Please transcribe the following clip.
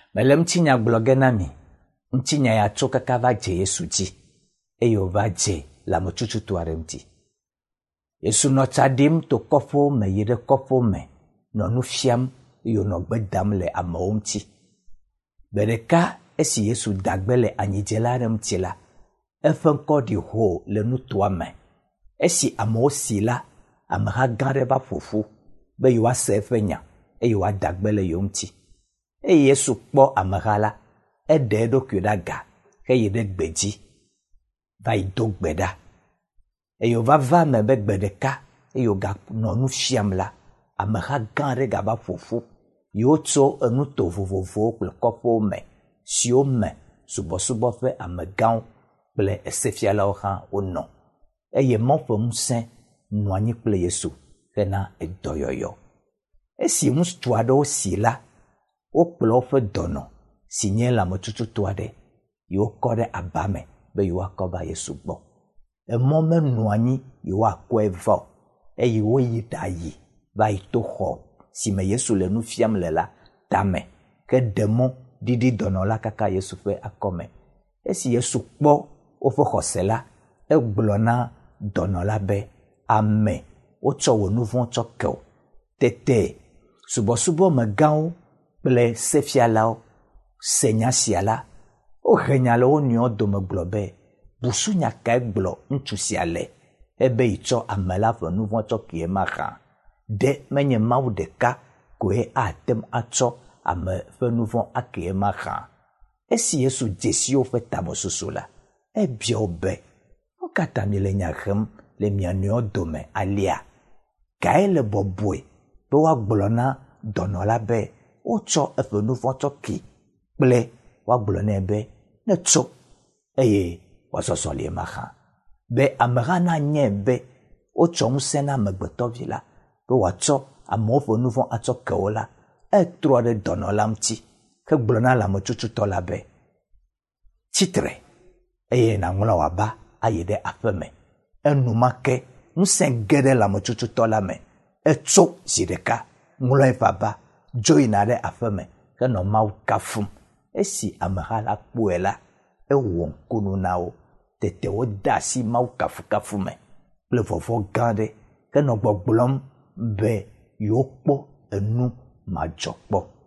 Mele mtinya blogenami. Mtinya ya choka kava je Yesu ji. Eyo va je la mochuchu tuare mti. Yesu no chadim to kofo me yire kofo me. No nu fiam yo no gbedam le amewo mti. Bereka esi Yesu dagbele anyijelare mti la. Efe nkɔ di ho le nutoa me. Esi amewo si la, ameha gã ɖe va ƒoƒu be yewoase eƒe nya eye yewoadagbe le yewo ŋuti. Eye Yesu kpɔ ameha la, eɖe eɖokui ɖe aga heyi ɖe gbe dzi va yi do gbe ɖa. Eye wòva me be gbe ɖeka eye wòganɔ nu fiam la, ameha gã ɖe gava ƒoƒu. Yewotso enuto vovovowo kple kɔƒewo me siwo me subɔsubɔ ƒe amegãwo kple esefialawo hã wonɔ. Eye Mawu ƒe ŋusẽ nɔ anyi kple Yesu hena edɔyɔyɔ. Esi ŋutsu aɖewo si la, wokplɔ woƒe dɔnɔ si nye lãmetututɔ aɖe yewokɔ ɖe aba me be yewoakɔ va Yesu gbɔ. Emɔ menɔ anyi yewoakɔe va o eye woyi ɖayi va yi to xɔ si me Yesu le nu fiam le la tame ke ɖe mɔ ɖiɖi dɔnɔ la kaka Yesu ƒe akɔme. Esi Yesu kpɔ woƒe xɔse la, egblɔ na dɔnɔ la be ame wotsɔ wò nu vɔ̃ tsɔ ke wo. Tete subɔsubɔ megãwo kple sefialawo se nya sia la, wohe nya le wo nɔewo dome gblɔ be busunya kae gblɔ ŋutsu sia le ebe yi tsɔ ame la ƒe nu vɔ̃ tsɔ kie ma hã. Ɖe menye Mawu ɖeka koe atem atsɔ ame ƒe nu vɔ̃ akie ma hã. Esi Yesu dzesi woƒe tamesusu la, ebia wo be wo katã miele nya hem le mia nɔewo dome alia. Kae le bɔbɔe be woagblɔ na dɔnɔ la be wotsɔ eƒe nu vɔ̃ tsɔ ke kple woagblɔ nɛ be ne tso eye wòasɔsɔ lie ma hã. Be ameha nanye be wotsɔ ŋusẽ na amegbetɔvi la be wòatsɔ amewo ƒe nu vɔ̃ atsɔ ke wo la, etrɔ ɖe dɔnɔ la ŋuti hegblɔ na lãmetsututɔ la be tsitre eye nàŋlɔ wòaba ayi ɖe aƒe me. Enumake ŋusẽ ge ɖe lãmetsututɔ la me. Etso zi ɖeka ŋlɔe vava dzo yina ɖe aƒe me henɔ Mawu kafum. Esi ameha la kpɔe la, ewɔ ŋkunu na wo. Tete wode asi Mawu kafukafu me kple vɔvɔ gã ɖe henɔ gbɔgblɔm be yewokpɔ enu madzɔkpɔ.